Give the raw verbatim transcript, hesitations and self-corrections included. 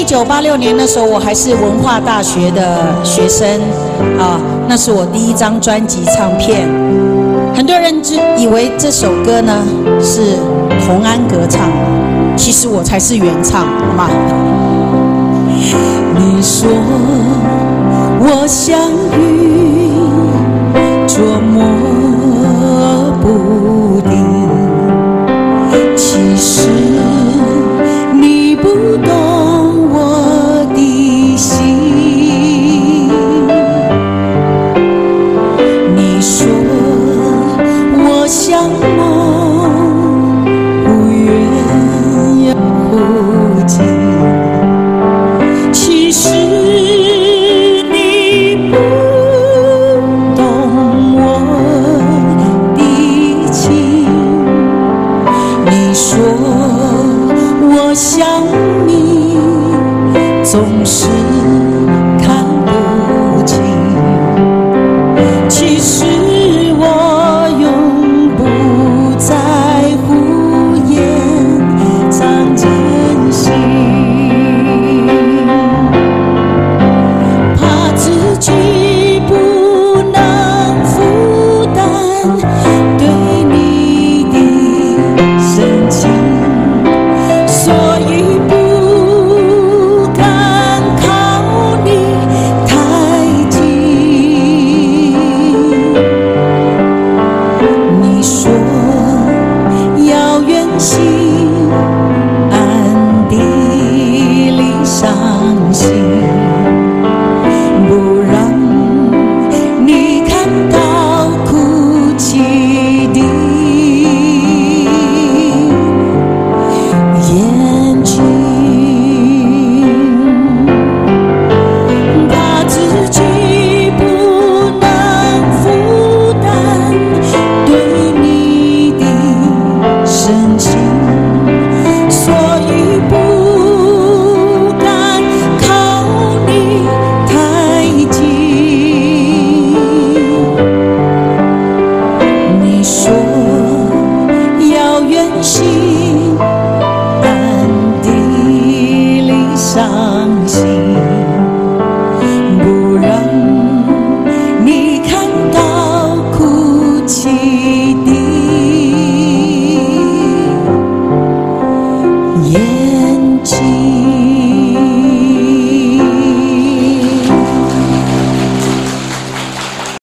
九八六年那时候，我还是文化大学的学生啊，那是我第一张专辑唱片。很多人只以为这首歌呢是童安格唱，其实我才是原唱，好吗？你说我像云，捉摸不定，其实你不懂我的心。你说我像梦，忽远又忽近，其实你不懂我的情。你说我像